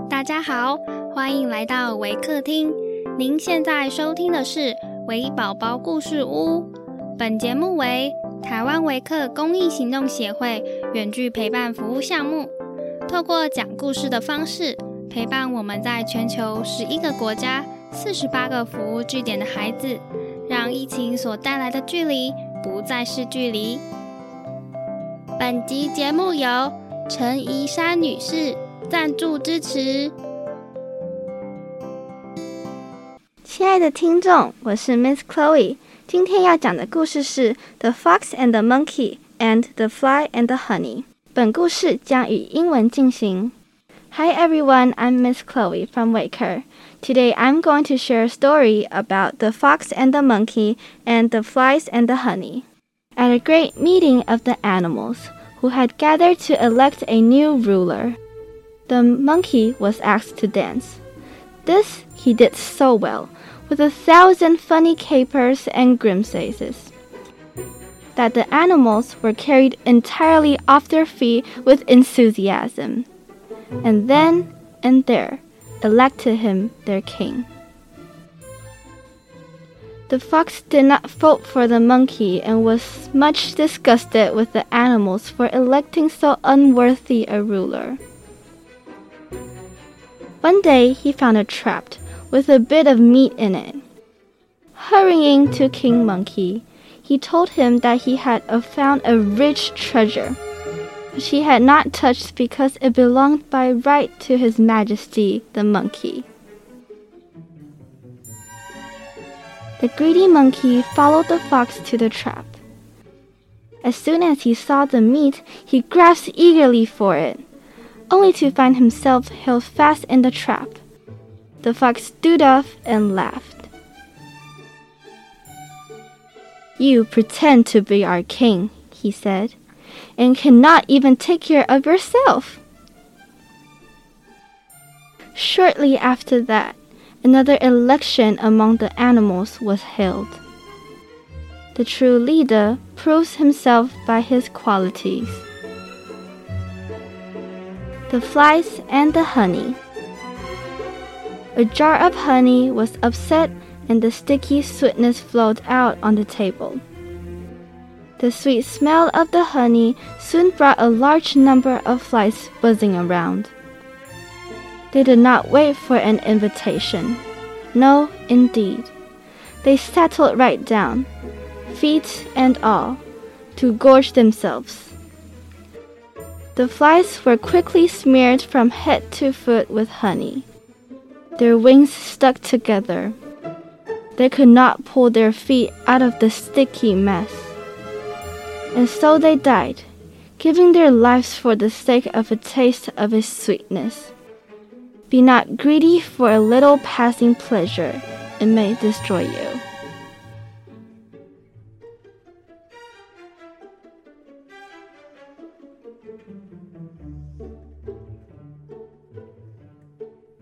大家好，欢迎来到微客厅。您现在收听的是微宝宝故事屋。本节目为台湾微客公益行动协会远距陪伴服务项目，透过讲故事的方式，陪伴我们在全球11个国家、48个服务据点的孩子，让疫情所带来的距离不再是距离。本集节目由陈怡珊女士赞助支持。 亲爱的听众，我是 Miss Chloe， 今天要讲的故事是 The Fox and the Monkey and the Fly and the Honey。 本故事将以英文进行。 Hi everyone, I'm Miss Chloe from Waker. Today I'm going to share a story about the fox and the monkey and the flies and the honey. At a great meeting of the animals, who had gathered to elect a new ruler, the monkey was asked to dance. This he did so well, with 1,000 funny capers and grimaces, that the animals were carried entirely off their feet with enthusiasm, and then and there elected him their king. The fox did not vote for the monkey and was much disgusted with the animals for electing so unworthy a ruler. One day he found a trap with a bit of meat in it. Hurrying to King Monkey, he told him that he had found a rich treasure, which he had not touched because it belonged by right to His Majesty the monkey. The greedy monkey followed the fox to the trap. As soon as he saw the meat, he grasped eagerly for it, only to find himself held fast in the trap. The fox stood up and laughed. "You pretend to be our king," he said, "and cannot even take care of yourself." Shortly after that, another election among the animals was held. The true leader proves himself by his qualities. The flies and the honey. A jar of honey was upset and the sticky sweetness flowed out on the table. The sweet smell of the honey soon brought a large number of flies buzzing around. They did not wait for an invitation. No, indeed. They settled right down, feet and all, to gorge themselves. The flies were quickly smeared from head to foot with honey. Their wings stuck together. They could not pull their feet out of the sticky mess. And so they died, giving their lives for the sake of a taste of its sweetness. Be not greedy for a little passing pleasure, it may destroy you.